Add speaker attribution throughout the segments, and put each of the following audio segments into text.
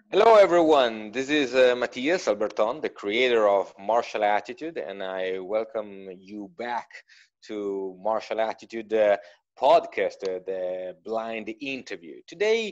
Speaker 1: Hello, everyone. This is Matthias Alberton, the creator of Martial Attitude, and I welcome you back to Martial Attitude podcast, the blind interview. Today,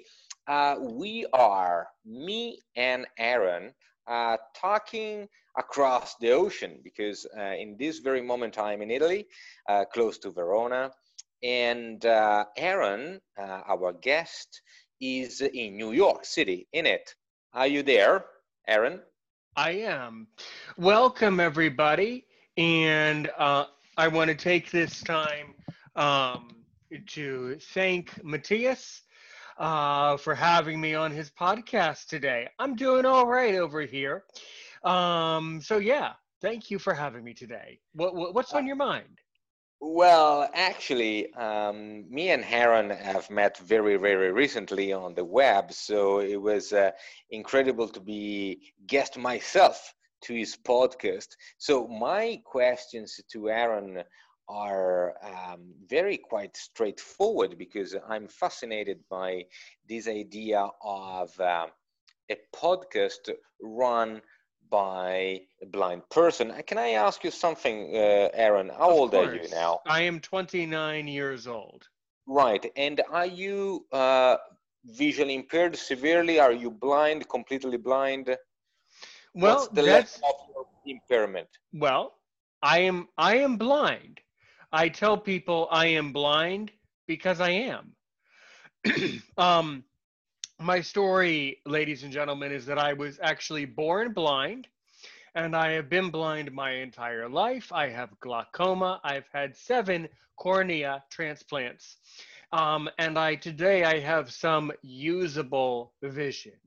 Speaker 1: me and Aaron, talking across the ocean because in this very moment I'm in Italy, close to Verona, and Aaron, our guest, is in New York City, in it. Are you there, Aaron?
Speaker 2: I am. Welcome, everybody. And I want to take this time um, to thank Matthias for having me on his podcast today. I'm doing all right over here. So, thank you for having me today. What's
Speaker 1: Uh,
Speaker 2: on your mind?
Speaker 1: well, actually, me and Aaron have met very, very recently on the web, so it was incredible to be guest myself to his podcast. So my questions to Aaron are very quite straightforward because I'm fascinated by this idea of a podcast run by a blind person. Can I ask you something, Aaron? How
Speaker 2: Of
Speaker 1: old are you
Speaker 2: course.
Speaker 1: now?
Speaker 2: I am 29 years old.
Speaker 1: Right. And are you visually impaired severely? Are you blind, completely blind? What's
Speaker 2: Well,
Speaker 1: the level
Speaker 2: that's
Speaker 1: of your impairment?
Speaker 2: well, I am blind. I tell people I am blind because I am. um, my story, ladies and gentlemen, is that I was actually born blind and I have been blind my entire life. I have glaucoma. I've had 7 cornea transplants. And today I have some usable vision.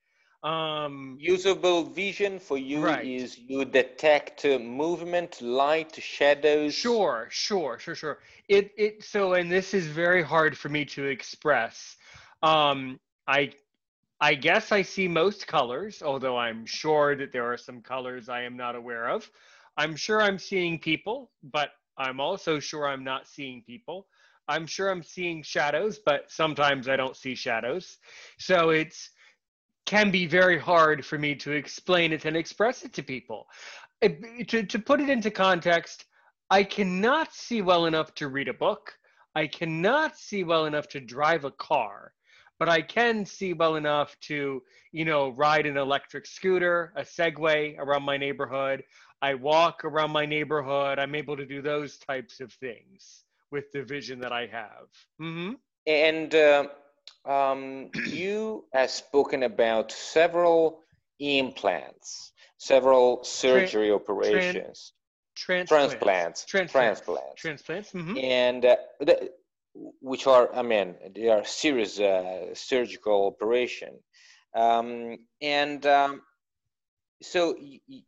Speaker 2: Um,
Speaker 1: Usable vision for you
Speaker 2: right.
Speaker 1: is you detect movement, light, shadows.
Speaker 2: Sure. And this is very hard for me to express. Um, I I guess I see most colors, although I'm sure that there are some colors I am not aware of. I'm sure I'm seeing people, but I'm also sure I'm not seeing people. I'm sure I'm seeing shadows, but sometimes I don't see shadows. So it's can be very hard for me to explain it and express it to people. To put it into context, I cannot see well enough to read a book. I cannot see well enough to drive a car, but I can see well enough to, ride an electric scooter, a Segway around my neighborhood. I walk around my neighborhood. I'm able to do those types of things with the vision that I have.
Speaker 1: And you have spoken about several implants, several
Speaker 2: Tran,
Speaker 1: surgery
Speaker 2: tran,
Speaker 1: operations,
Speaker 2: transplants,
Speaker 1: transplants,
Speaker 2: transplants,
Speaker 1: transplants,
Speaker 2: transplants.
Speaker 1: and which are, I mean, they are serious surgical operation. And so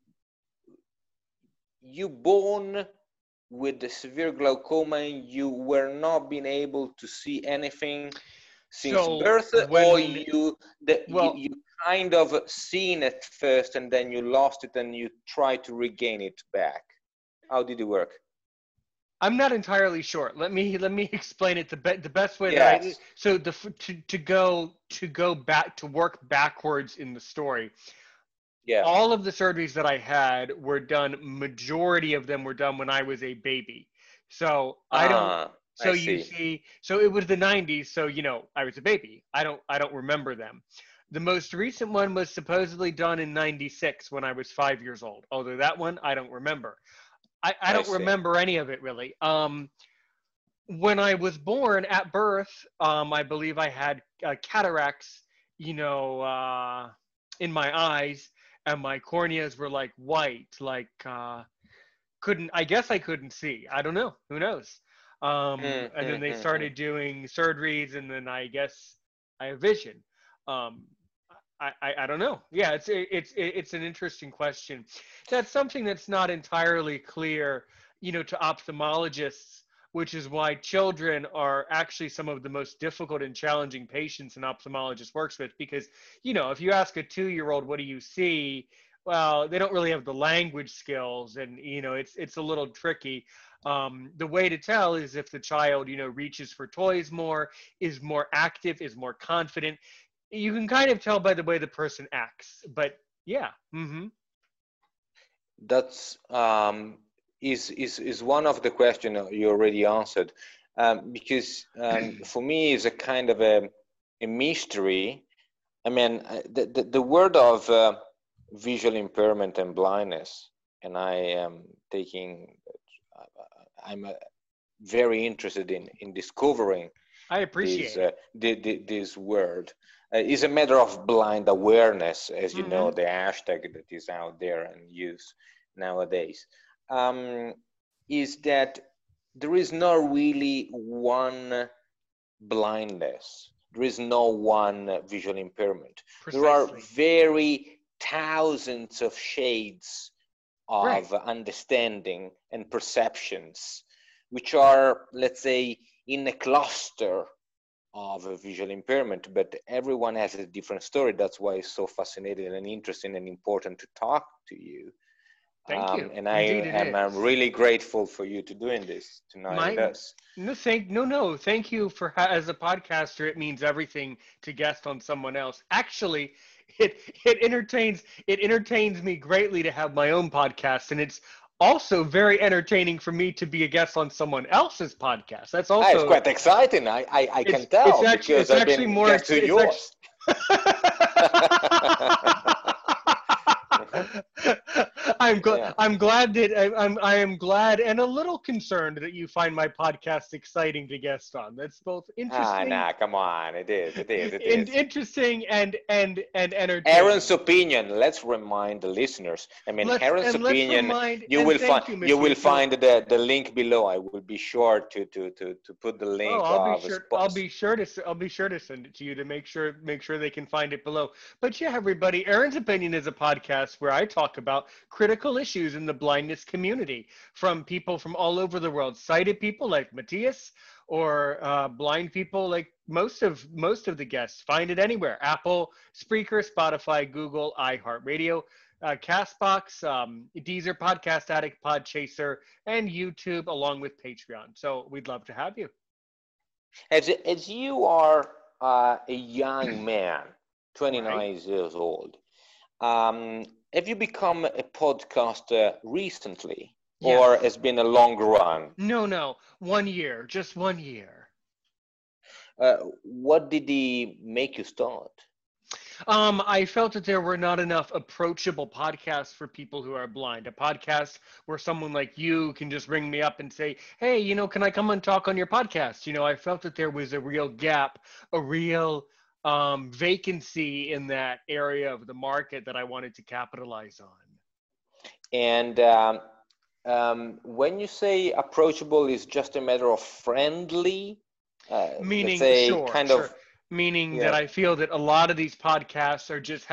Speaker 1: you born with the severe glaucoma, you were not being able to see anything since
Speaker 2: So
Speaker 1: birth, or
Speaker 2: when, well,
Speaker 1: you kind of seen it first and then you lost it and you try to regain it back. How did it work?
Speaker 2: I'm not entirely sure. Let me explain it the best way that I
Speaker 1: Yes.
Speaker 2: so the to go back to work backwards in the story.
Speaker 1: Yeah.
Speaker 2: All of the surgeries that I had were done. Majority of them were done when I was a baby. So I don't.
Speaker 1: Ah,
Speaker 2: So
Speaker 1: I
Speaker 2: you
Speaker 1: see.
Speaker 2: see, so it was the 90s. So I was a baby. I don't remember them. The most recent one was supposedly done in 96 when I was 5 years old. Although that one I don't remember. I
Speaker 1: I
Speaker 2: don't
Speaker 1: see.
Speaker 2: remember any of it really. When I was born at birth, I believe I had cataracts, you know, uh, in my eyes, and my corneas were like white, like couldn't. I guess I couldn't see. I don't know. Who knows?
Speaker 1: Mm,
Speaker 2: And then
Speaker 1: mm,
Speaker 2: they
Speaker 1: mm, mm.
Speaker 2: started doing surgeries, and then I guess I have vision. Um, I don't know. Yeah, it's an interesting question. That's something that's not entirely clear, to ophthalmologists, which is why children are actually some of the most difficult and challenging patients an ophthalmologist works with. Because if you ask a 2-year-old, what do you see? Well, they don't really have the language skills, and it's a little tricky. The way to tell is if the child reaches for toys more, is more active, is more confident, You can kind of tell by the way the person acts, but yeah.
Speaker 1: That's is one of the question you already answered, because for me it's a kind of a mystery. I mean, the word of visual impairment and blindness, and I am taking, I'm very interested in discovering
Speaker 2: I
Speaker 1: this
Speaker 2: appreciate it.
Speaker 1: this word. Is a matter of blind awareness, as you know,
Speaker 2: Hmm.
Speaker 1: the hashtag that is out there and used nowadays. Um, is that there is not really one blindness. There is no one visual impairment. There are
Speaker 2: Precisely.
Speaker 1: very thousands of shades
Speaker 2: Right.
Speaker 1: of understanding and perceptions, which are, let's say, in a cluster of a visual impairment, but everyone has a different story. That's why it's so fascinating and interesting and important to talk to you.
Speaker 2: Thank you.
Speaker 1: And I
Speaker 2: Indeed, it
Speaker 1: am
Speaker 2: is.
Speaker 1: really grateful for you to doing this tonight with
Speaker 2: My
Speaker 1: us.
Speaker 2: no, thank you for as a podcaster. It means everything to guest on someone else. Actually, it it entertains me greatly to have my own podcast, and it's also very entertaining for me to be a guest on someone else's podcast. That's
Speaker 1: Ah, it's
Speaker 2: also
Speaker 1: quite exciting. I can
Speaker 2: it's
Speaker 1: tell
Speaker 2: actually
Speaker 1: because
Speaker 2: it's
Speaker 1: I've
Speaker 2: actually
Speaker 1: been
Speaker 2: more
Speaker 1: guest to
Speaker 2: it's actually
Speaker 1: yours. Yeah.
Speaker 2: I'm glad that I am glad and a little concerned that you find my podcast exciting to guest on. That's both
Speaker 1: Ah,
Speaker 2: interesting
Speaker 1: nah, come on. It is. It is. It
Speaker 2: and
Speaker 1: is.
Speaker 2: interesting and
Speaker 1: Aaron's
Speaker 2: entertaining.
Speaker 1: opinion. Let's remind the listeners. I mean, Aaron's
Speaker 2: Let's
Speaker 1: opinion.
Speaker 2: remind
Speaker 1: You
Speaker 2: and
Speaker 1: will find.
Speaker 2: thank you,
Speaker 1: You will
Speaker 2: Matthias. So
Speaker 1: find the link below. I will be sure to put the
Speaker 2: oh,
Speaker 1: link of
Speaker 2: I'll be sure to send it to you to make sure they can find it below. But yeah, everybody, Aaron's Opinion is a podcast where I talk about critical issues in the blindness community from people from all over the world, sighted people like Matthias, or blind people like most of the guests. Find it anywhere: Apple, Spreaker, Spotify, Google, iHeartRadio. Castbox, Deezer, Podcast Addict, Podchaser, and YouTube, along with Patreon. So we'd love to have you.
Speaker 1: as you are a young man,
Speaker 2: Right?
Speaker 1: 29 years old. Have you become a podcaster recently, or
Speaker 2: Yes.
Speaker 1: has been a long run?
Speaker 2: No, no. 1 year. Just 1 year.
Speaker 1: What did he make you start?
Speaker 2: I felt that there were not enough approachable podcasts for people who are blind. A podcast where someone like you can just ring me up and say, "Hey, can I come and talk on your podcast?" I felt that there was a real gap, a real vacancy in that area of the market that I wanted to capitalize on.
Speaker 1: And when you say approachable, is just a matter of friendly, let's
Speaker 2: Meaning,
Speaker 1: say,
Speaker 2: sure,
Speaker 1: kind
Speaker 2: sure.
Speaker 1: of,
Speaker 2: Meaning that
Speaker 1: yeah,
Speaker 2: I feel that a lot of these podcasts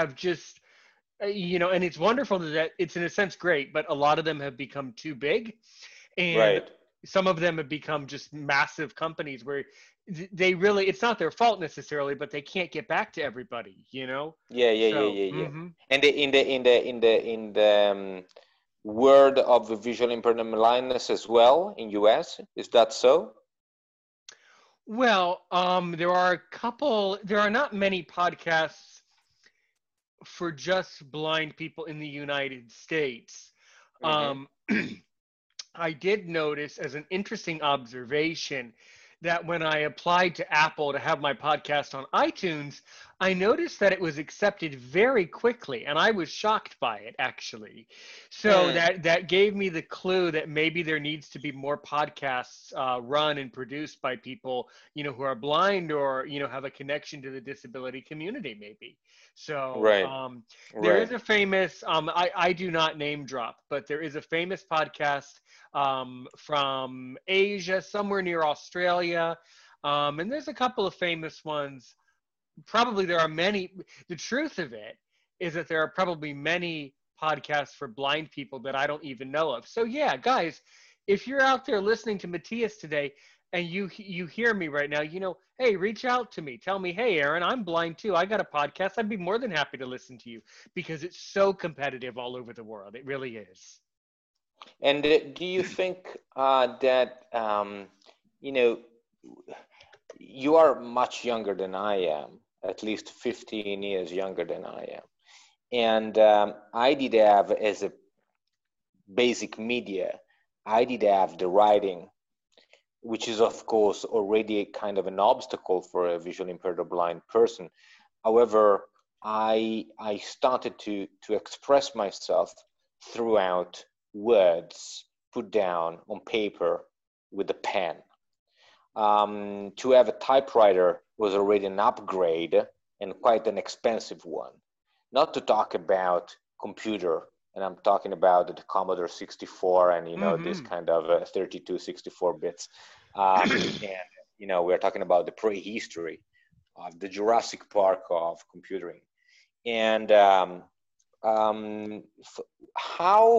Speaker 2: and it's wonderful that it's in a sense great, but a lot of them have become too big, and
Speaker 1: right.
Speaker 2: some of them have become just massive companies where they really, it's not their fault necessarily, but they can't get back to everybody.
Speaker 1: Yeah, yeah, yeah,
Speaker 2: So,
Speaker 1: yeah, yeah. And in the word of the visual impairment blindness as well in US, is that so?
Speaker 2: well, there are not many podcasts for just blind people in the United States.
Speaker 1: Mm-hmm.
Speaker 2: Um, I did notice as an interesting observation that when I applied to Apple to have my podcast on iTunes, I noticed that it was accepted very quickly, and I was shocked by it actually. So
Speaker 1: Hmm.
Speaker 2: that gave me the clue that maybe there needs to be more podcasts run and produced by people who are blind or have a connection to the disability community maybe. So
Speaker 1: Right,
Speaker 2: there is
Speaker 1: right.
Speaker 2: a famous I do not name drop, but there is a famous podcast from Asia, somewhere near Australia. And there's a couple of famous ones. Probably there are many. The truth of it is that there are probably many podcasts for blind people that I don't even know of. So yeah, guys, if you're out there listening to Matthias today and you hear me right now, hey, reach out to me. Tell me, hey, Aaron, I'm blind too. I got a podcast. I'd be more than happy to listen to you because it's so competitive all over the world. It really is.
Speaker 1: And do you think that you know you are much younger than I am, at least 15 years younger than I am. And I did have, as a basic media, I did have the writing, which is of course already a kind of an obstacle for a visually impaired or blind person. However, I started to express myself throughout words put down on paper with a pen. To have a typewriter was already an upgrade, and quite an expensive one. Not to talk about computer, and I'm talking about the Commodore 64 and, you know, this kind of 32, 64 bits. And, you know, we're talking about the prehistory of the Jurassic Park of computing. And how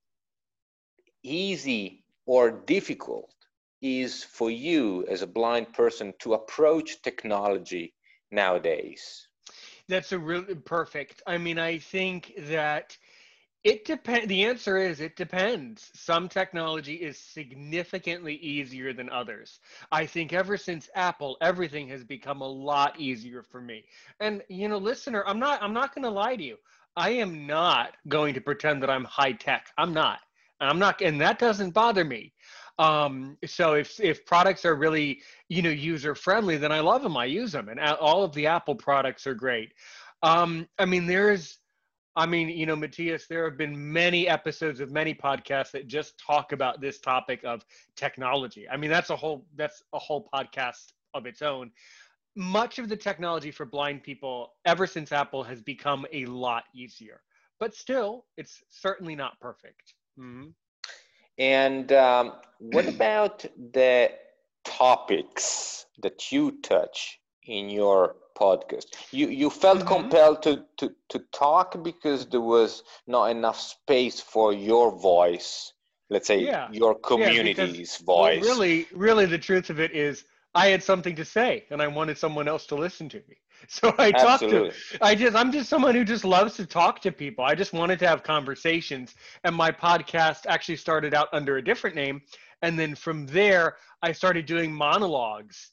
Speaker 1: easy or difficult is for you as a blind person to approach technology nowadays?
Speaker 2: That's a really perfect. I mean, I think that it depends. The answer is it depends. Some technology is significantly easier than others. I think ever since Apple, everything has become a lot easier for me. And you know, listener, I'm not going to lie to you. I am not going to pretend that I'm high tech. I'm not. And that doesn't bother me. So if products are really, you know, user friendly, then I love them. I use them, and all of the Apple products are great. I mean, you know, Matthias, there have been many episodes of many podcasts that just talk about this topic of technology. I mean, that's a whole podcast of its own. Much of the technology for blind people, ever since Apple, has become a lot easier, but still, it's certainly not perfect. Mm-hmm.
Speaker 1: And what about the topics that you touch in your podcast? You felt compelled to talk because there was not enough space for your voice, let's say your community's voice.
Speaker 2: Well, really, the truth of it is I had something to say and I wanted someone else to listen to me. So I talked to, I'm just someone who just loves to talk to people. I just wanted to have conversations. And my podcast actually started out under a different name. And then from there, I started doing monologues.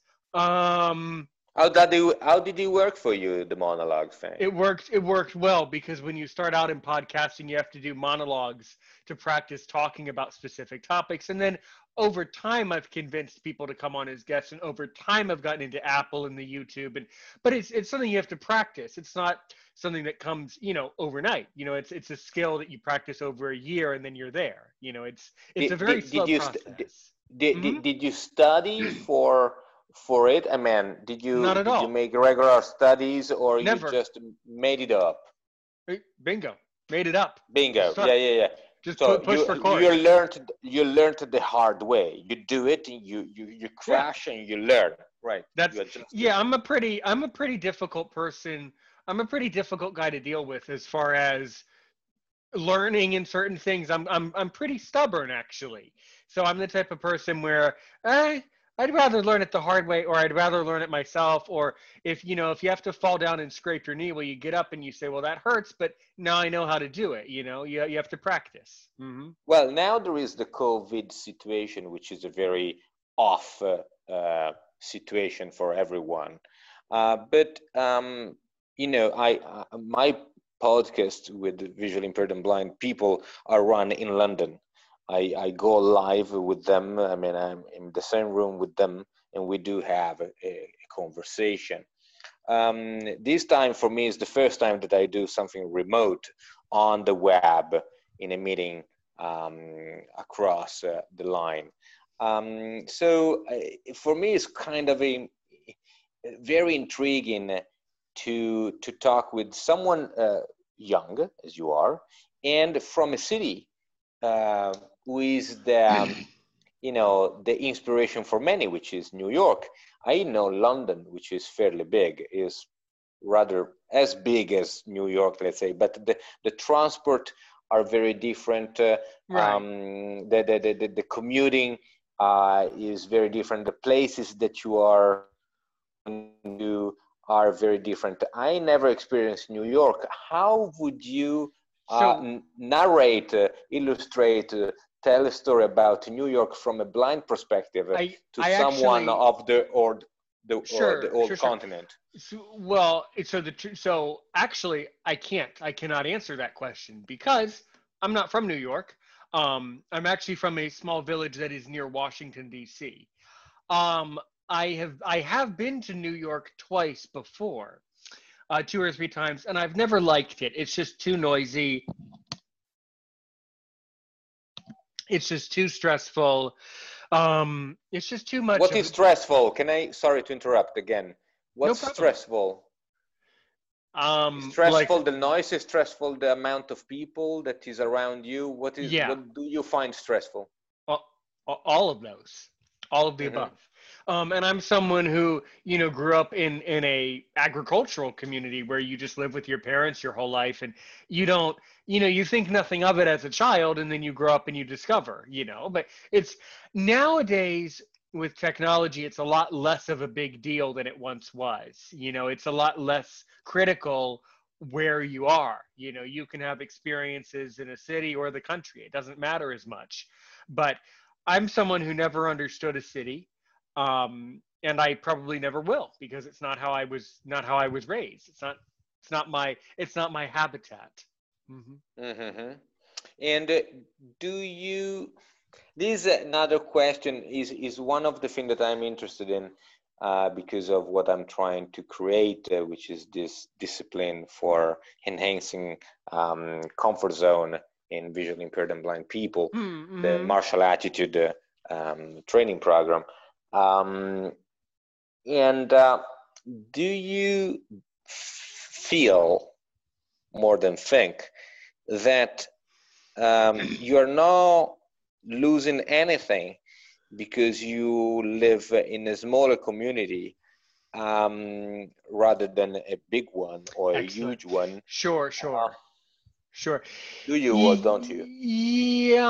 Speaker 1: How did it work for you, the monologue thing?
Speaker 2: It worked well, because when you start out in podcasting, you have to do monologues to practice talking about specific topics. And then over time, I've convinced people to come on as guests, and over time I've gotten into Apple and the YouTube. But it's something you have to practice. It's not something that comes, you know, overnight. You know, it's a skill that you practice over a year and then you're there. You know, it's a very slow process.
Speaker 1: Did you study for it? I mean, did you make regular studies, or
Speaker 2: Never.
Speaker 1: You just made it up?
Speaker 2: Bingo, made it up.
Speaker 1: Bingo. Yeah.
Speaker 2: Just
Speaker 1: so
Speaker 2: push for chorus.
Speaker 1: You learned the hard way. You do it, and you crash, and you learn. Right.
Speaker 2: I'm a pretty difficult person. I'm a pretty difficult guy to deal with as far as learning in certain things. I'm pretty stubborn, actually. So I'm the type of person where I'd rather learn it the hard way, or I'd rather learn it myself. Or if you have to fall down and scrape your knee, well, you get up and you say, well, that hurts, but now I know how to do it. You know, you have to practice. Mm-hmm.
Speaker 1: Well, now there is the COVID situation, which is a very off situation for everyone. But you know, my podcast with visually impaired and blind people are run in London. I go live with them. I mean, I'm in the same room with them, and we do have a conversation. This time for me is the first time that I do something remote on the web in a meeting across the line. So for me, it's kind of a very intriguing to talk with someone young, as you are, and from a city who is the the inspiration for many, which is New York. I know London, which is fairly big, is rather as big as New York, let's say, but the transport are very different.
Speaker 2: Right.
Speaker 1: The commuting is very different. The places that you are to are very different. I never experienced New York. How would you narrate, illustrate, tell a story about New York from a blind perspective to someone of the the
Speaker 2: Sure,
Speaker 1: old
Speaker 2: sure, sure.
Speaker 1: continent?
Speaker 2: So actually, I cannot answer that question because I'm not from New York. I'm actually from a small village that is near Washington D.C. Um, I have been to New York twice before, 2 or 3 times, and I've never liked it. It's just too noisy. It's just too stressful. It's just too much
Speaker 1: What
Speaker 2: of
Speaker 1: is
Speaker 2: a
Speaker 1: stressful? Can I, sorry to interrupt again.
Speaker 2: no
Speaker 1: What's
Speaker 2: problem.
Speaker 1: stressful? Is
Speaker 2: Like
Speaker 1: stressful the noise? Is stressful the amount of people that is around you?
Speaker 2: yeah,
Speaker 1: What do you find stressful?
Speaker 2: all, all of those, all of the
Speaker 1: Hmm.
Speaker 2: above. And I'm someone who grew up in a agricultural community where you just live with your parents your whole life, and you don't you think nothing of it as a child, and then you grow up and you discover. But it's nowadays with technology, it's a lot less of a big deal than it once was. It's a lot less critical where you are. You can have experiences in a city or the country. It doesn't matter as much. But I'm someone who never understood a city, and I probably never will because it's not how I was raised. It's not my habitat. Hmm.
Speaker 1: Hmm. And do you, this is another question, is one of the things that I'm interested in because of what I'm trying to create, which is this discipline for enhancing comfort zone in visually impaired and blind people, the
Speaker 2: Mm-hmm.
Speaker 1: martial attitude training program. Um, and do you feel more than think that you're not losing anything because you live in a smaller community rather than a big one or a
Speaker 2: Excellent.
Speaker 1: huge one?
Speaker 2: Sure,
Speaker 1: Uh,
Speaker 2: sure, sure.
Speaker 1: do you or don't you?
Speaker 2: Yeah,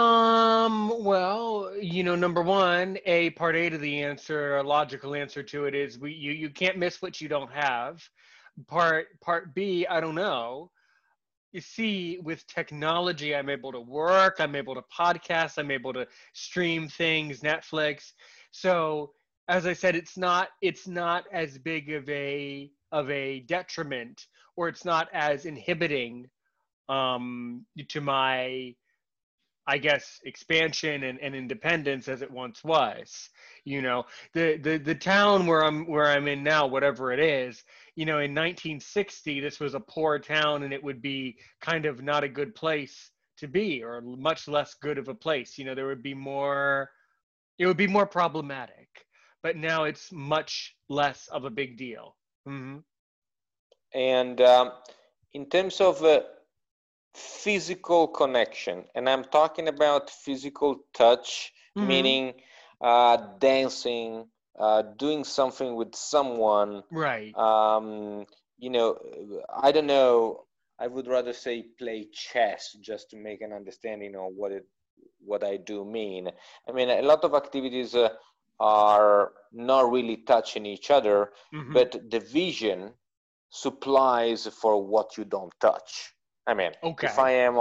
Speaker 2: well, number one, part A to the answer, a logical answer to it is you can't miss what you don't have. Part B, I don't know. You see, with technology, I'm able to work, I'm able to podcast, I'm able to stream things, Netflix. So, as I said, it's not as big of a detriment, or it's not as inhibiting to my, I guess, expansion and independence as it once was. The town where I'm in now, whatever it is, in 1960, this was a poor town, and it would be kind of not a good place to be, or much less good of a place. There would be more. It would be more problematic. But now it's much less of a big deal. Hmm.
Speaker 1: And in terms of physical connection, and I'm talking about physical touch,
Speaker 2: Hmm.
Speaker 1: meaning dancing, doing something with someone.
Speaker 2: Right.
Speaker 1: Um, I don't know. I would rather say play chess just to make an understanding of what I do mean. I mean, a lot of activities are not really touching each other,
Speaker 2: Hmm.
Speaker 1: but the vision supplies for what you don't touch. I mean, if I
Speaker 2: Okay.
Speaker 1: am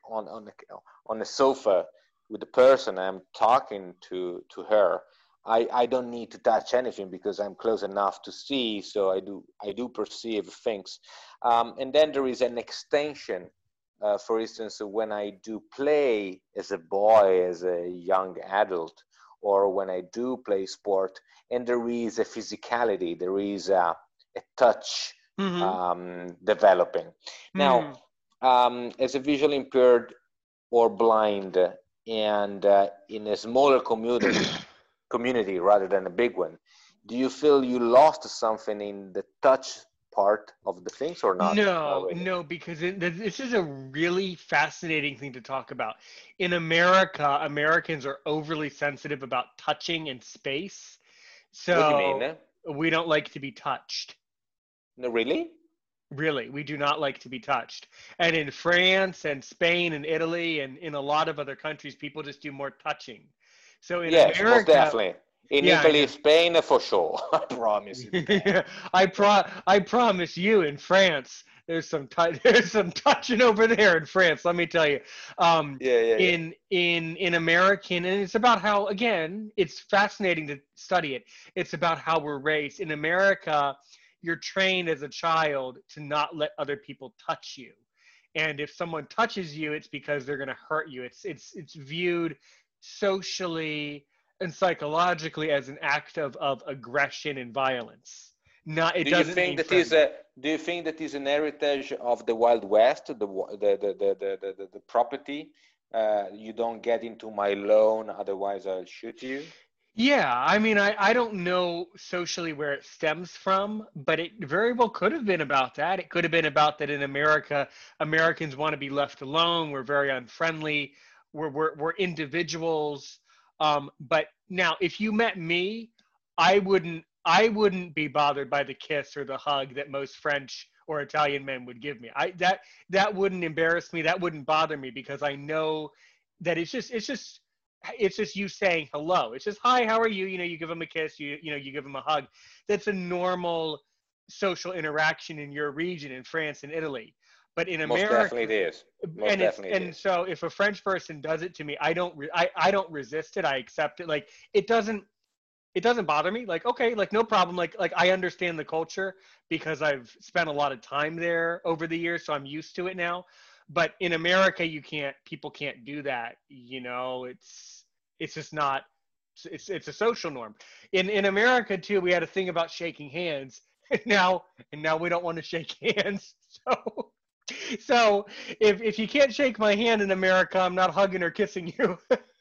Speaker 1: on the sofa with the person I'm talking to her, I don't need to touch anything because I'm close enough to see. So I do perceive things, and then there is an extension. For instance, when I do play as a boy, as a young adult, or when I do play sport, and there is a physicality, there is a touch
Speaker 2: Hmm.
Speaker 1: developing. Now,
Speaker 2: Hmm.
Speaker 1: as a visually impaired or blind, and in a smaller community rather than a big one, do you feel you lost something in the touch part of the things or not? Not
Speaker 2: No,
Speaker 1: really.
Speaker 2: no, because this is a really fascinating thing to talk about. In America, Americans are overly sensitive about touching and space,
Speaker 1: What do you mean?
Speaker 2: so we don't like to be touched.
Speaker 1: No, really?
Speaker 2: Really, we do not like to be touched. And in France and Spain and Italy and in a lot of other countries, people just do more touching. So in
Speaker 1: Yes, most
Speaker 2: America,
Speaker 1: definitely. In
Speaker 2: yeah, I
Speaker 1: Italy,
Speaker 2: know.
Speaker 1: Spain, for sure. I promise you that.
Speaker 2: I promise you, in France, there's some touching over there in France. Let me tell you,
Speaker 1: Yeah, yeah, yeah.
Speaker 2: in American, and it's about how, again, it's fascinating to study it. It's about how we're raised in America. You're trained as a child to not let other people touch you, and if someone touches you, it's because they're going to hurt you. It's viewed socially and psychologically as an act of aggression and violence. Not, it
Speaker 1: Do you
Speaker 2: doesn't
Speaker 1: think
Speaker 2: mean
Speaker 1: that is
Speaker 2: friendly.
Speaker 1: a do you think that is an heritage of the Wild West, the property? You don't get into my lawn, otherwise I'll shoot you.
Speaker 2: Yeah, I mean, I don't know socially where it stems from, but it very well could have been about that. It could have been about that in America, Americans want to be left alone. We're very unfriendly. We're individuals. But now, if you met me, I wouldn't be bothered by the kiss or the hug that most French or Italian men would give me. That wouldn't embarrass me. That wouldn't bother me because I know that it's just you saying hello. It's just hi, how are you? You know, you give them a kiss, you give them a hug. That's a normal social interaction in your region in France and Italy. But in
Speaker 1: Most definitely
Speaker 2: America,
Speaker 1: it is. Most
Speaker 2: and it's
Speaker 1: definitely it
Speaker 2: and
Speaker 1: is.
Speaker 2: so if a French person does it to me, I don't resist it. I accept it. Like it doesn't bother me. Like okay, like no problem. Like I understand the culture because I've spent a lot of time there over the years, so I'm used to it now. But in America, people can't do that. It's just not. It's a social norm. In America too, we had a thing about shaking hands. And now we don't want to shake hands. So if you can't shake my hand in America, I'm not hugging or kissing you.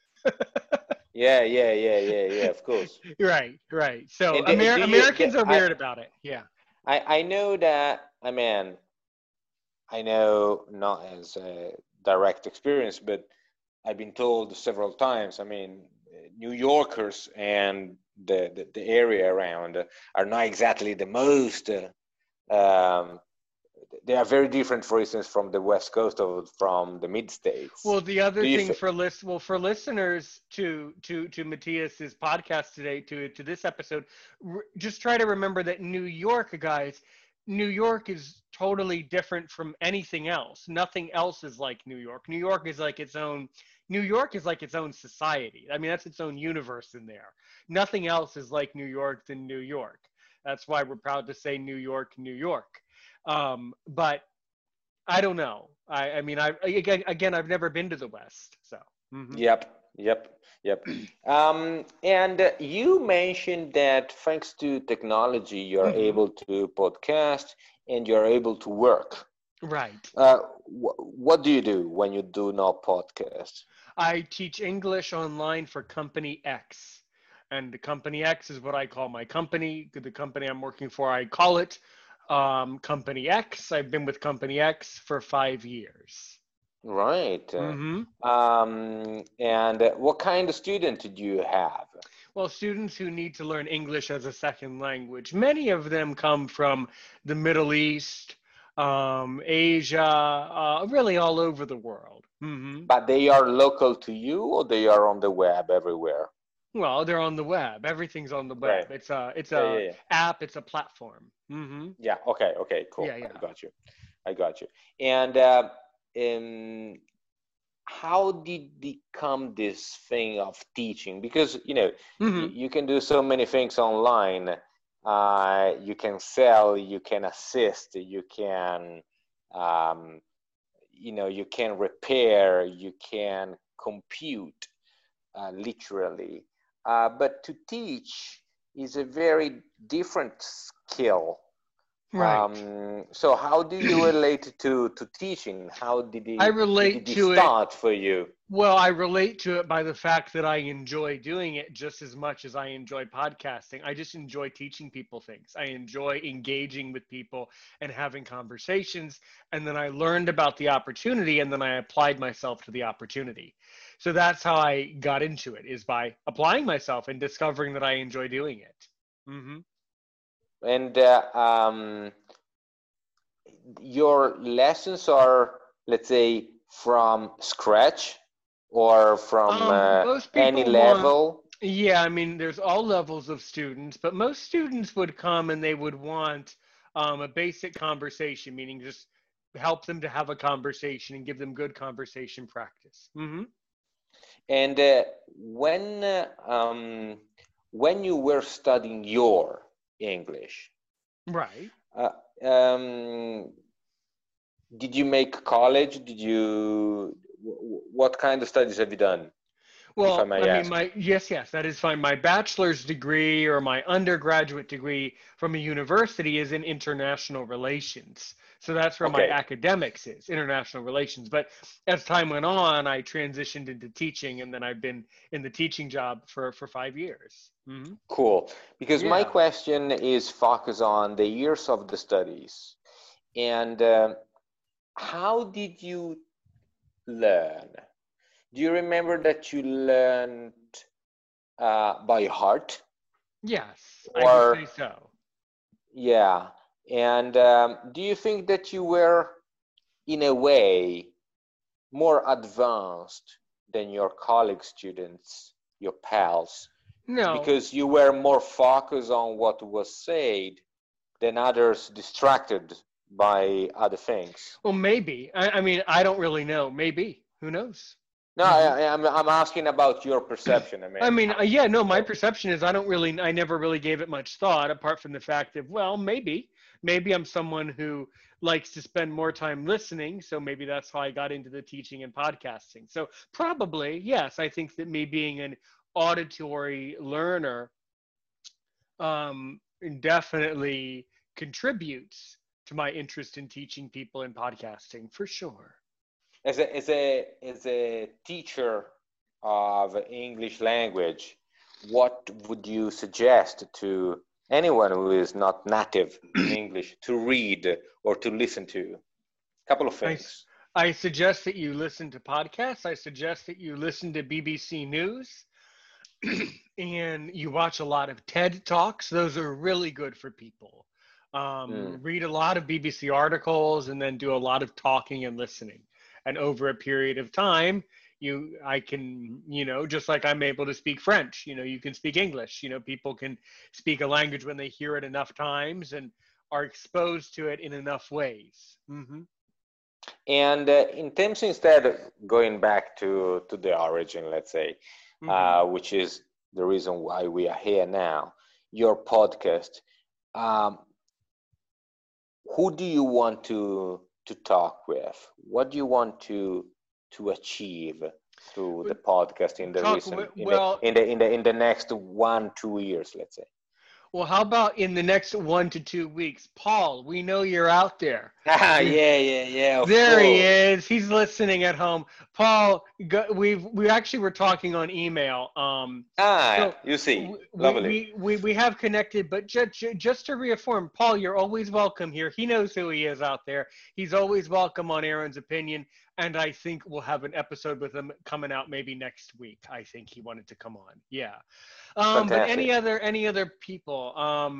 Speaker 1: Yeah, yeah, yeah, yeah, yeah. Of course.
Speaker 2: Right. So
Speaker 1: And do you?
Speaker 2: Americans are weird about it. Yeah.
Speaker 1: I know that. I mean, I know not as a direct experience, but I've been told several times. I mean, New Yorkers and the area around are not exactly the most. Um, they are very different, for instance, from the West Coast of from the mid states.
Speaker 2: Well, the other
Speaker 1: Do you?
Speaker 2: thing for listeners to Matthias's podcast today, to this episode, just try to remember that New York, guys, New York is totally different from anything else. Nothing else is like New York. New York is like its own. New York is like its own society. I mean, that's its own universe in there. Nothing else is like New York than New York. That's why we're proud to say New York, New York. But I don't know. I mean, again, I've never been to the West, so. Hmm.
Speaker 1: Yep, yep, yep. And you mentioned that thanks to technology, you're
Speaker 2: Hmm.
Speaker 1: able to podcast and you're able to work.
Speaker 2: Right.
Speaker 1: What do you do when you do not podcast?
Speaker 2: I teach English online for Company X, and the Company X is what I call my company. The company I'm working for, I call it Company X. I've been with Company X for 5 years.
Speaker 1: Right.
Speaker 2: Hmm.
Speaker 1: And what kind of student do you have?
Speaker 2: Well, students who need to learn English as a second language, many of them come from the Middle East, Asia, really all over the world. Hmm.
Speaker 1: But they are local to you or they are on the web everywhere?
Speaker 2: Well, they're on the web. Everything's on the
Speaker 1: Right.
Speaker 2: web. It's a
Speaker 1: Yeah, yeah, yeah.
Speaker 2: app. It's a platform. Hmm.
Speaker 1: Yeah, okay, okay,
Speaker 2: Yeah,
Speaker 1: cool. I
Speaker 2: yeah.
Speaker 1: got you. I got you. And um, how did it come this thing of teaching? Because,
Speaker 2: Hmm.
Speaker 1: you can do so many things online. You can sell, you can assist, you can, um, you can repair, you can compute, literally. But to teach is a very different skill.
Speaker 2: Right.
Speaker 1: So how do you relate to teaching? How
Speaker 2: I
Speaker 1: did
Speaker 2: relate
Speaker 1: it
Speaker 2: to it.
Speaker 1: start for you?
Speaker 2: Well, I relate to it by the fact that I enjoy doing it just as much as I enjoy podcasting. I just enjoy teaching people things. I enjoy engaging with people and having conversations. And then I learned about the opportunity and then I applied myself to the opportunity. So that's how I got into it, is by applying myself and discovering that I enjoy doing it. Hmm.
Speaker 1: And your lessons are, let's say, from scratch or from
Speaker 2: Most
Speaker 1: any
Speaker 2: people want,
Speaker 1: level?
Speaker 2: yeah, I mean, there's all levels of students, but most students would come and they would want a basic conversation, meaning just help them to have a conversation and give them good conversation practice.
Speaker 1: And when you were studying your English,
Speaker 2: Right.
Speaker 1: uh, um, did you make college? What kind of studies have you done, if I
Speaker 2: Well,
Speaker 1: may
Speaker 2: I mean,
Speaker 1: ask?
Speaker 2: yes, that is fine. My bachelor's degree or my undergraduate degree from a university is in international relations. So that's where my
Speaker 1: Okay,
Speaker 2: academics is, international relations. But as time went on, I transitioned into teaching, and then I've been in the teaching job for 5 years.
Speaker 1: cool. Because my
Speaker 2: Yeah.
Speaker 1: question is focused on the years of the studies. And how did you learn? Do you remember that you learned by heart?
Speaker 2: Yes, I would say
Speaker 1: Or,
Speaker 2: so.
Speaker 1: yeah. And do you think that you were, in a way, more advanced than your colleague students, your pals,
Speaker 2: No,
Speaker 1: because you were more focused on what was said than others distracted by other things?
Speaker 2: well, maybe. I mean, I don't really know. Maybe. Who knows?
Speaker 1: No,
Speaker 2: Hmm.
Speaker 1: I'm asking about your perception. I
Speaker 2: I
Speaker 1: mean,
Speaker 2: mean,
Speaker 1: how,
Speaker 2: yeah, no, my
Speaker 1: so,
Speaker 2: perception is I never really gave it much thought apart from the fact that, well, maybe I'm someone who likes to spend more time listening. So maybe that's how I got into the teaching and podcasting. So probably, yes, I think that me being an auditory learner um, definitely contributes to my interest in teaching people in podcasting for sure.
Speaker 1: as a teacher of English language, what would you suggest to anyone who is not native in English to read or to listen to? A couple of
Speaker 2: I,
Speaker 1: things.
Speaker 2: I suggest that you listen to podcasts. I suggest that you listen to BBC News and you watch a lot of TED Talks. Those are really good for people.
Speaker 1: Mm.
Speaker 2: Read a lot of BBC articles and then do a lot of talking and listening. And over a period of time, I can, just like I'm able to speak French, you can speak English. People can speak a language when they hear it enough times and are exposed to it in enough ways.
Speaker 1: And in terms, instead of going back to the origin, let's say,
Speaker 2: Hmm.
Speaker 1: which is the reason why we are here now, your podcast, um, who do you want to talk with? What do you want to achieve through the podcast in the
Speaker 2: Talk
Speaker 1: recent
Speaker 2: well.
Speaker 1: in the next 1 2 years, let's say?
Speaker 2: Well, how about in the next 1 to 2 weeks, Paul? We know you're out there.
Speaker 1: Ah,
Speaker 2: We
Speaker 1: yeah, of
Speaker 2: There he
Speaker 1: course.
Speaker 2: is. He's listening at home. Paul, we actually were talking on email.
Speaker 1: Ah,
Speaker 2: So
Speaker 1: you see, lovely.
Speaker 2: we have connected, but just to reaffirm, Paul, you're always welcome here. He knows who he is out there. He's always welcome on Aaron's Opinion, and I think we'll have an episode with him coming out maybe next week. I think he wanted to come on. Yeah. But
Speaker 1: Fantastic.
Speaker 2: any other people?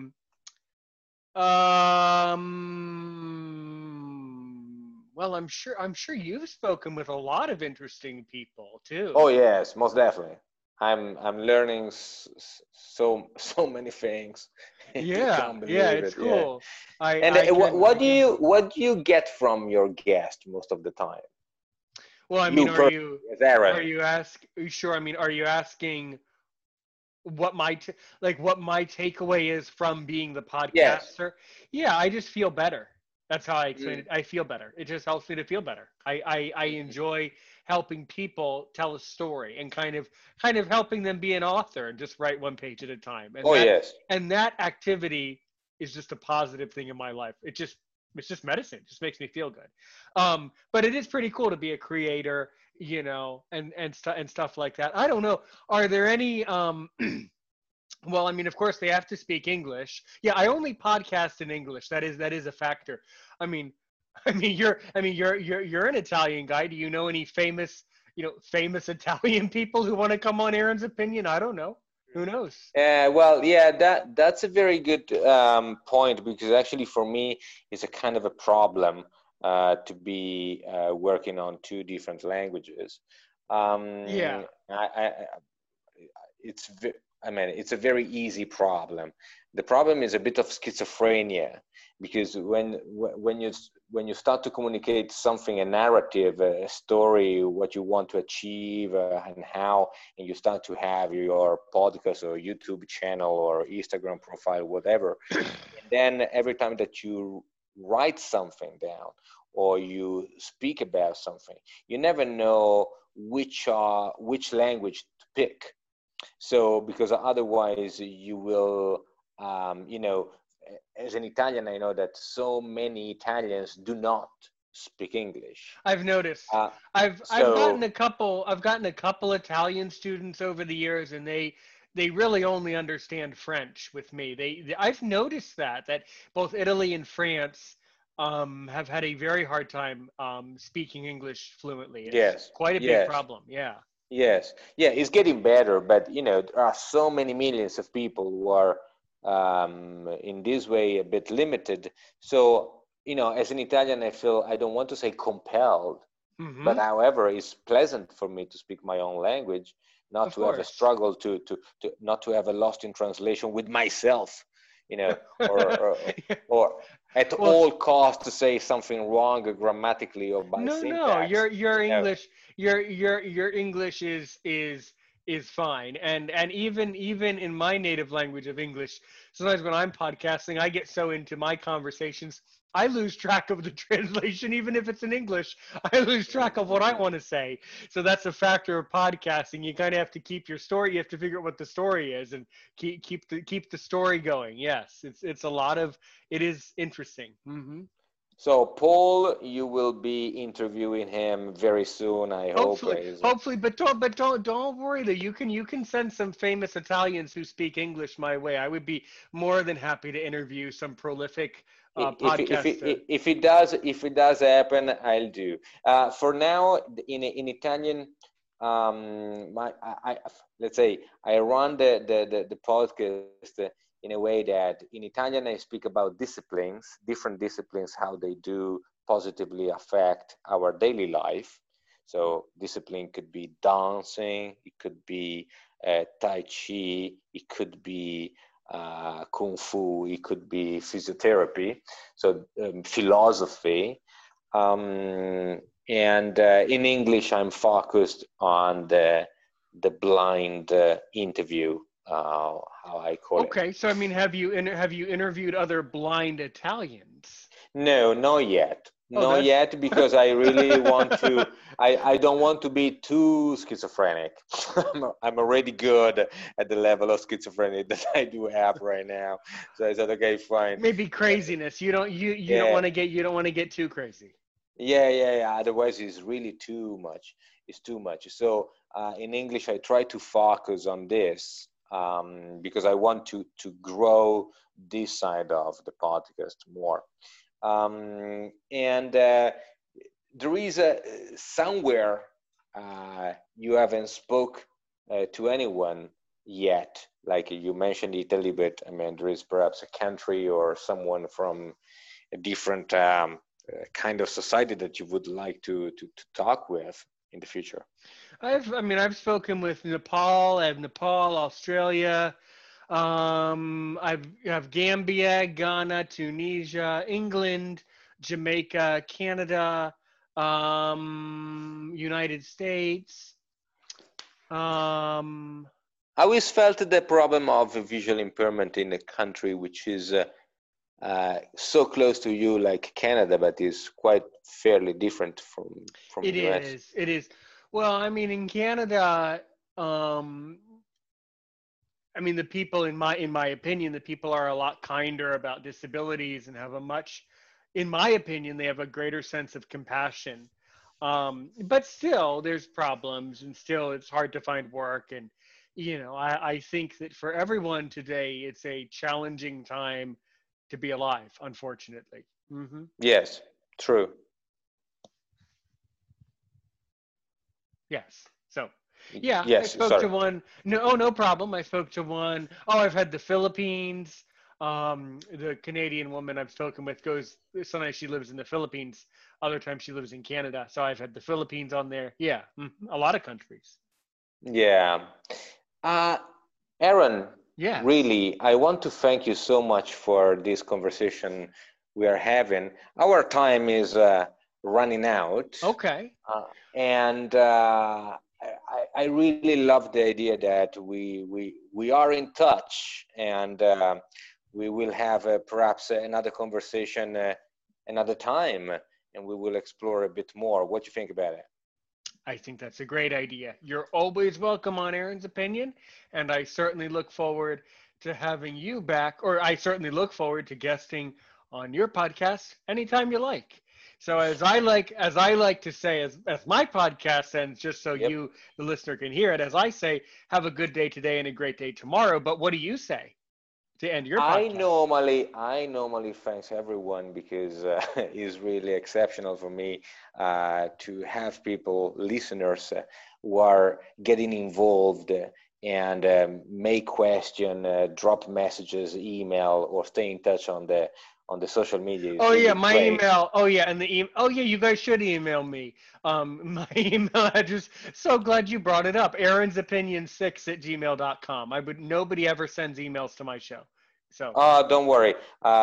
Speaker 2: Well, I'm sure you've spoken with a lot of interesting people
Speaker 1: Oh
Speaker 2: too.
Speaker 1: yes, most definitely. I'm learning so many things. You
Speaker 2: Yeah,
Speaker 1: can't
Speaker 2: yeah,
Speaker 1: believe
Speaker 2: it's
Speaker 1: it. Yeah.
Speaker 2: cool. I
Speaker 1: And
Speaker 2: I can I can.
Speaker 1: what do you get from your guest most of the time?
Speaker 2: Well, I mean,
Speaker 1: You
Speaker 2: are
Speaker 1: personally,
Speaker 2: you
Speaker 1: as
Speaker 2: are
Speaker 1: Aaron.
Speaker 2: you ask? Are you sure? I mean, are you asking what what my takeaway is from being the
Speaker 1: Yes.
Speaker 2: podcaster? Yeah, I just feel better. That's how I explain
Speaker 1: Mm.
Speaker 2: it. I feel better. It just helps me to feel better. I enjoy helping people tell a story and kind of helping them be an author and just write one page at a time. And
Speaker 1: Oh
Speaker 2: that
Speaker 1: yes.
Speaker 2: and that activity is just a positive thing in my life. It's just medicine. It just makes me feel good. But it is pretty cool to be a creator, and stuff like that. I don't know. Are there any well, I mean, of course they have to speak English. Yeah, I only podcast in English. That is a factor. I mean, you're an Italian guy. Do you know any famous Italian people who want to come on Aaron's Opinion? I don't know. Who knows?
Speaker 1: Well, yeah, that's a very good point, because actually for me it's a kind of a problem to be working on two different languages.
Speaker 2: Yeah.
Speaker 1: It's I mean, it's a very easy problem. The problem is a bit of schizophrenia, because when you when you start to communicate something, a narrative, a story, what you want to achieve, and how, and you start to have your podcast or YouTube channel or Instagram profile, whatever, and then every time that you write something down or you speak about something, you never know which language to pick. So because otherwise you will, as an Italian, I know that so many Italians do not speak English.
Speaker 2: I've noticed.
Speaker 1: Uh,
Speaker 2: I've gotten
Speaker 1: so
Speaker 2: a couple Italian students over the years, and they really only understand French with me. I've noticed that both Italy and France have had a very hard time speaking English fluently. It's
Speaker 1: yes,
Speaker 2: quite a big
Speaker 1: yes,
Speaker 2: problem. Yeah.
Speaker 1: yes, yeah, it's getting better, but there are so many millions of people who are in this way a bit limited. So as an Italian, I feel I don't want to say compelled, but
Speaker 2: Hmm.
Speaker 1: however, it's pleasant for me to speak my own language, not
Speaker 2: Of
Speaker 1: to have a
Speaker 2: course.
Speaker 1: struggle to not to have a lost in translation with myself, or or at
Speaker 2: Well,
Speaker 1: all costs to say something wrong grammatically or by
Speaker 2: no,
Speaker 1: syntax.
Speaker 2: your
Speaker 1: You know,
Speaker 2: English, your English is fine, and even in my native language of English, sometimes when I'm podcasting, I get so into my conversations, I lose track of the translation, even if it's in English. I lose track of what I want to say. So that's a factor of podcasting. You kind of have to keep your story. You have to figure out what the story is and keep the story going. Yes, it's a lot of it is interesting. Hmm.
Speaker 1: so Paul, you will be interviewing him very soon, I hope.
Speaker 2: Hopefully, but don't worry though. You can send some famous Italians who speak English my way. I would be more than happy to interview some prolific podcaster.
Speaker 1: If it does happen, I'll do. For now, in Italian, let's say I run the podcast in a way that in Italian I speak about disciplines, different disciplines, how they do positively affect our daily life. So discipline could be dancing, it could be Tai Chi, it could be Kung Fu, it could be physiotherapy, so philosophy. And in English, I'm focused on the blind interview, how I call it.
Speaker 2: Okay, so I mean, have you interviewed other blind Italians?
Speaker 1: No, not yet.
Speaker 2: Oh,
Speaker 1: Not
Speaker 2: that's
Speaker 1: yet, because I really want to. I don't want to be too schizophrenic. I'm already good at the level of schizophrenia that I do have right now. So I said, okay, fine.
Speaker 2: maybe craziness. You don't
Speaker 1: Yeah,
Speaker 2: want to get you don't want to get too crazy.
Speaker 1: yeah. Otherwise, it's really too much. It's too much. So in English, I try to focus on this because I want to grow this side of the podcast more. And there is somewhere you haven't spoke to anyone yet. Like you mentioned Italy, but I mean, there is perhaps a country or someone from a different kind of society that you would like to talk with in the future.
Speaker 2: I've spoken with Nepal. I have Nepal, Australia. I have Gambia, Ghana, Tunisia, England, Jamaica, Canada, United States. Um,
Speaker 1: I always felt the problem of visual impairment in a country which is so close to you like Canada, but is quite fairly different from
Speaker 2: it
Speaker 1: US.
Speaker 2: is. It is. Well, I mean, in Canada, um, I mean, the people in my opinion, the people are a lot kinder about disabilities and have a much, in my opinion, they have a greater sense of compassion. But still, there's problems, and still, it's hard to find work. And I think that for everyone today, it's a challenging time to be alive, unfortunately. Hmm.
Speaker 1: Yes, true.
Speaker 2: Yes. So, yeah, I
Speaker 1: Yes,
Speaker 2: spoke
Speaker 1: sorry.
Speaker 2: to one. No, oh, no problem. I spoke to one. Oh, I've had the Philippines. The Canadian woman I've spoken with goes. Sometimes she lives in the Philippines. Other times she lives in Canada. So I've had the Philippines on there. Yeah, a lot of countries.
Speaker 1: Yeah. Uh, Aaron,
Speaker 2: Yes.
Speaker 1: really, I want to thank you so much for this conversation we are having. Our time is running out.
Speaker 2: Okay.
Speaker 1: And I really love the idea that we are in touch, and we will have perhaps another conversation another time, and we will explore a bit more. What do you think about it?
Speaker 2: I think that's a great idea. You're always welcome on Aaron's Opinion, and I certainly look forward to having you back, or I certainly look forward to guesting on your podcast anytime you like. So as I like to say, as my podcast ends, just so
Speaker 1: Yep.
Speaker 2: you, the listener, can hear it, as I say, have a good day today and a great day tomorrow. But what do you say to end your podcast?
Speaker 1: I normally thanks everyone because it's really exceptional for me to have people, listeners, who are getting involved and make question, drop messages, email, or stay in touch on the social media is
Speaker 2: Oh yeah,
Speaker 1: really
Speaker 2: my
Speaker 1: great.
Speaker 2: email. Oh yeah, and the email. Oh yeah, you guys should email me. My email address. So glad you brought it up. Aaron's opinion 6 at gmail.com. I would. Nobody ever sends emails to my show. So.
Speaker 1: Don't worry.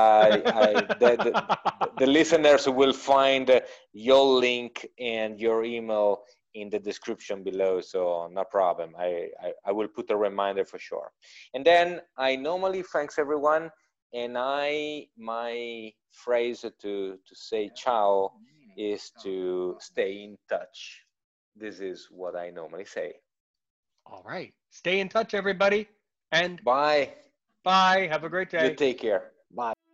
Speaker 1: The listeners will find your link and your email in the description below, so no problem. I will put a reminder for sure. And then I normally thanks everyone, and my phrase to say ciao is to stay in touch. This is what I normally say.
Speaker 2: All right. Stay in touch, everybody, and
Speaker 1: Bye.
Speaker 2: bye. Have a great
Speaker 1: You
Speaker 2: day.
Speaker 1: take care. Bye.